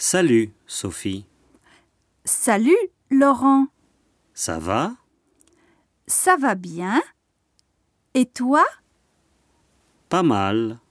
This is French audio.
Salut, Sophie. Salut, Laurent. Ça va? Ça va bien? Et toi? Pas mal.